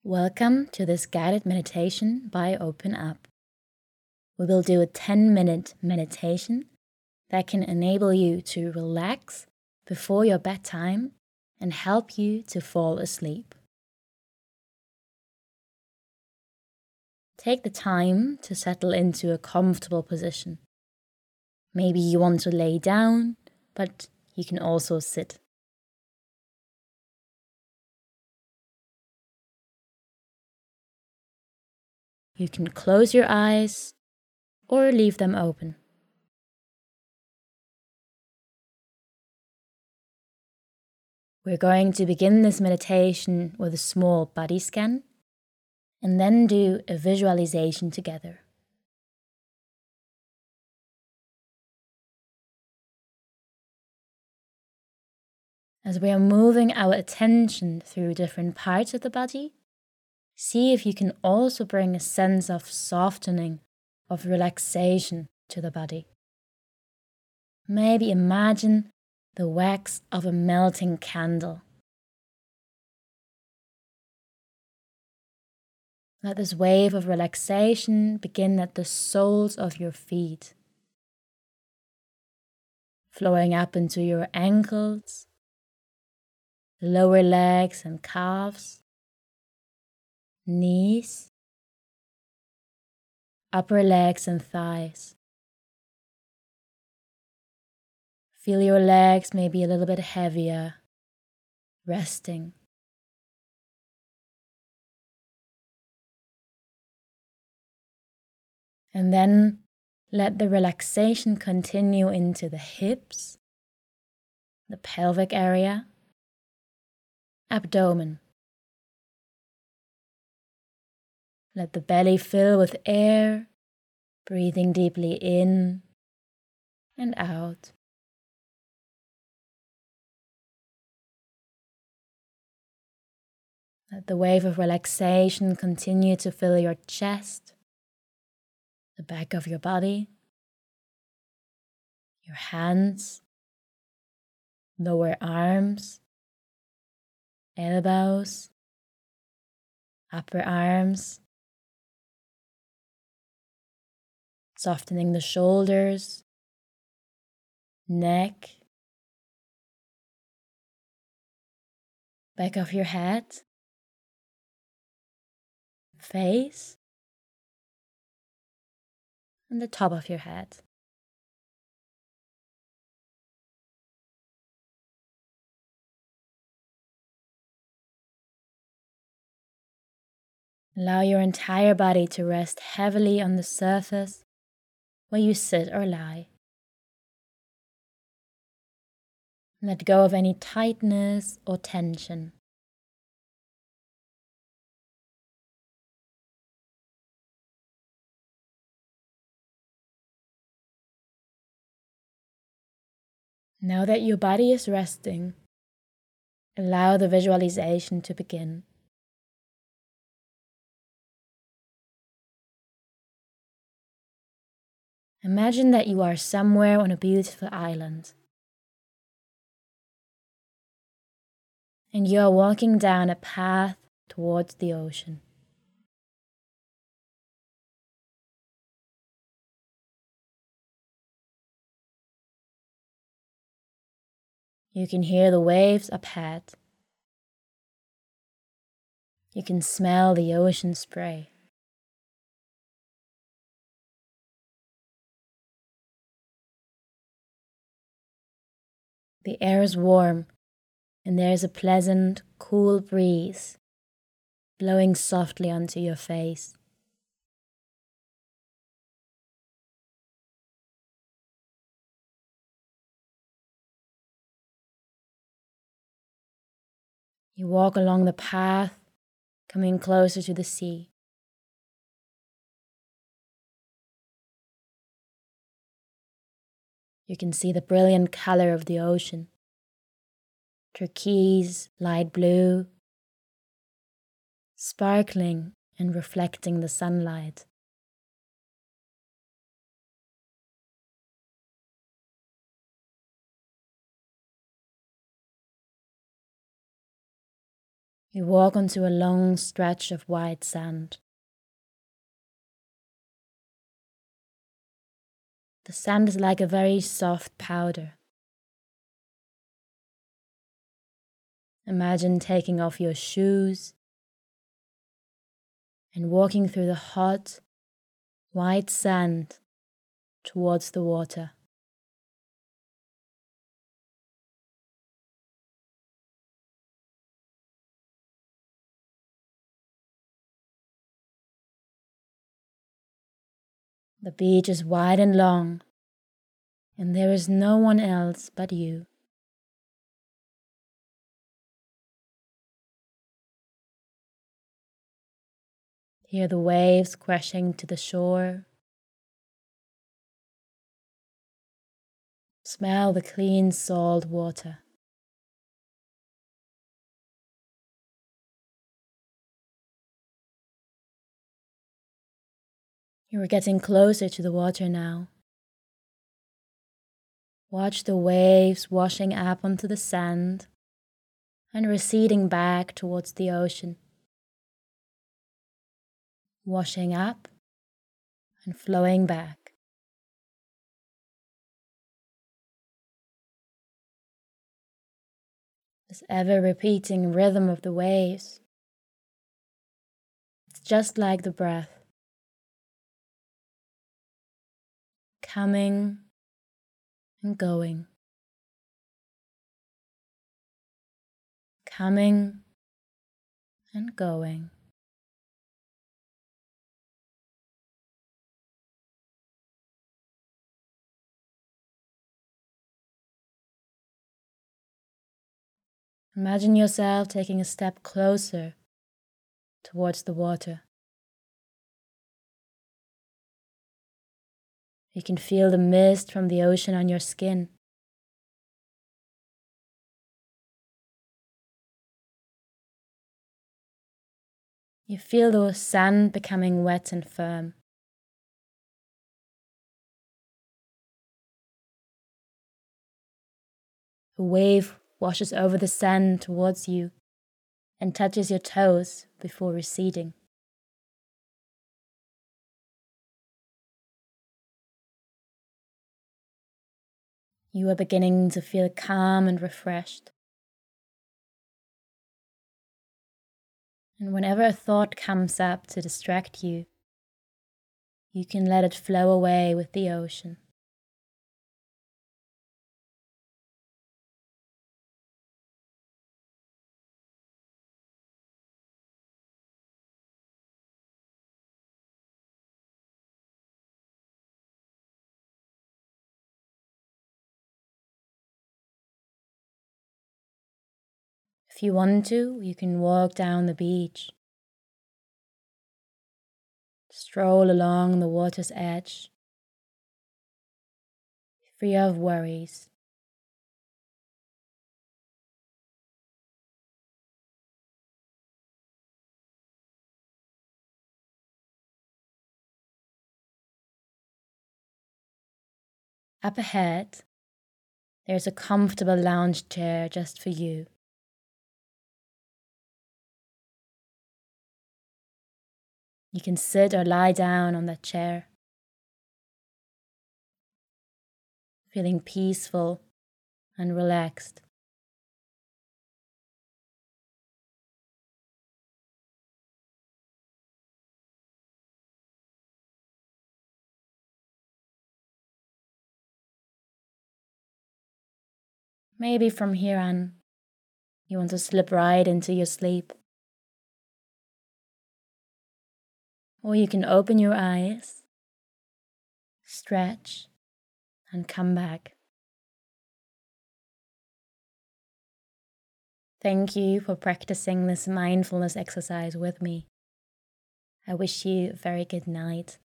Welcome to this guided meditation by Open Up. We will do a 10-minute meditation that can enable you to relax before your bedtime and help you to fall asleep. Take the time to settle into a comfortable position. Maybe you want to lay down, but you can also sit. You can close your eyes or leave them open. We're going to begin this meditation with a small body scan and then do a visualization together. As we are moving our attention through different parts of the body, see if you can also bring a sense of softening, of relaxation to the body. Maybe imagine the wax of a melting candle. Let this wave of relaxation begin at the soles of your feet, flowing up into your ankles, lower legs and calves, knees, upper legs and thighs. Feel your legs maybe a little bit heavier, resting. And then let the relaxation continue into the hips, the pelvic area, abdomen. Let the belly fill with air, breathing deeply in and out. Let the wave of relaxation continue to fill your chest, the back of your body, your hands, lower arms, elbows, upper arms, softening the shoulders, neck, back of your head, face, and the top of your head. Allow your entire body to rest heavily on the surface where you sit or lie. Let go of any tightness or tension. Now that your body is resting, allow the visualization to begin. Imagine that you are somewhere on a beautiful island, and you are walking down a path towards the ocean. You can hear the waves up ahead. You can smell the ocean spray. The air is warm, and there is a pleasant, cool breeze blowing softly onto your face. You walk along the path, coming closer to the sea. You can see the brilliant color of the ocean. Turquoise, light blue, sparkling and reflecting the sunlight. You walk onto a long stretch of white sand. The sand is like a very soft powder. Imagine taking off your shoes and walking through the hot, white sand towards the water. The beach is wide and long, and there is no one else but you. Hear the waves crashing to the shore. Smell the clean salt water. You are getting closer to the water now. Watch the waves washing up onto the sand and receding back towards the ocean. Washing up and flowing back. This ever-repeating rhythm of the waves. It's just like the breath. Coming and going. Coming and going. Imagine yourself taking a step closer towards the water. You can feel the mist from the ocean on your skin. You feel the sand becoming wet and firm. A wave washes over the sand towards you and touches your toes before receding. You are beginning to feel calm and refreshed. And whenever a thought comes up to distract you, you can let it flow away with the ocean. If you want to, you can walk down the beach. Stroll along the water's edge, free of worries. Up ahead, there's a comfortable lounge chair just for you. You can sit or lie down on that chair, feeling peaceful and relaxed. Maybe from here on, you want to slip right into your sleep. Or you can open your eyes, stretch, and come back. Thank you for practicing this mindfulness exercise with me. I wish you a very good night.